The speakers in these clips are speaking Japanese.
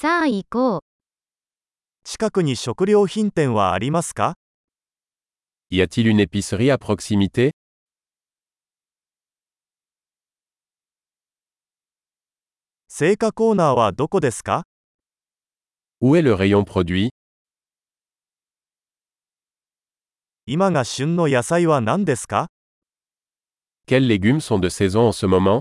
さあ行こう。 近くに食料品店はありますか？ Y a-t-il une épicerie à proximité? 青果コーナーはどこですか？ Où est le rayon produit? 今が旬の野菜は何ですか？ Quels légumes sont de saison en ce moment?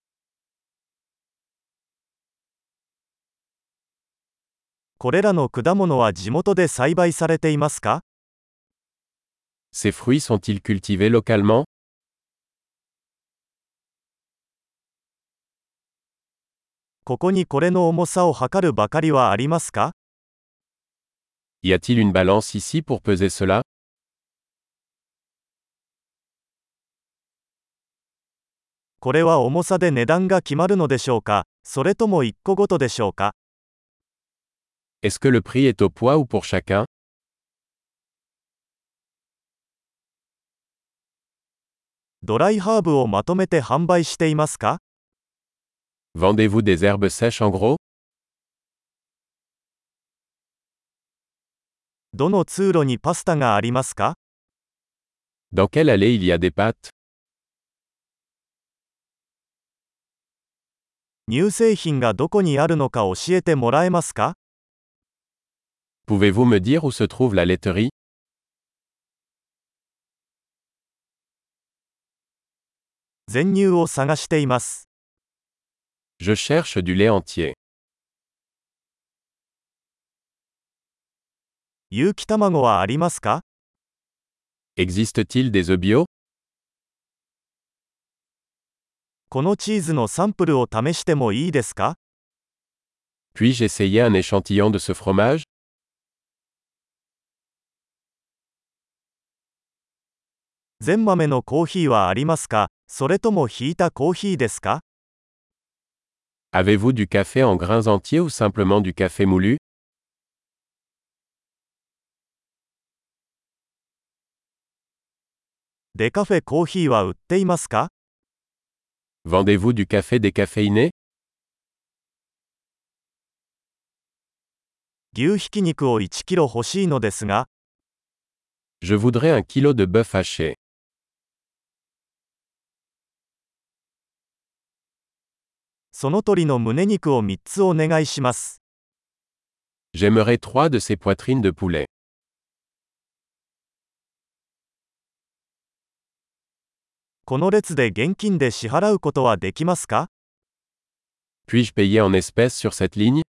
これらの果物は地元で栽培されていますか？ Ces fruits sont-ils cultivés localement? ここにこれの重さを測るばかりはありますか？ Y a-t-il une balance ici pour peser cela? これは重さで値段が決まるのでしょうか？それとも1個ごとでしょうか？ Est-ce que le prix est au poids ou pour chacun? ドライハーブをまとめて販売していますか？ Vendez-vous des herbes sèches en gros? どの通路にパスタがありますか？ Dans quelle allée il y a des pâtes? 乳製品がどこにあるのか教えてもらえますか？ Pouvez-vous me dire où se trouve la laiterie? 全乳を探しています。 Je cherche du lait entier. 有機卵はありますか？ Existe-t-il des œufs bio? このチーズのサンプルを試してもいいですか？ Puis-je essayer un échantillon de ce fromage? 全豆のコーヒーはありますか？それともひいたコーヒーですか？ Avez-vous du café en grains entiers ou simplement du café moulu? デカフェコーヒーは売っていますか？ Vendez-vous du café décaféiné? 牛ひき肉を1キロ欲しいのですが、 Je voudrais un kilo de bœuf haché. その鶏の胸肉を3つお願いします。 J'aimerais 3 de ces poitrines de poulet. この列で現金で支払うことはできますか？ Puis-je payer en espèces sur cette ligne?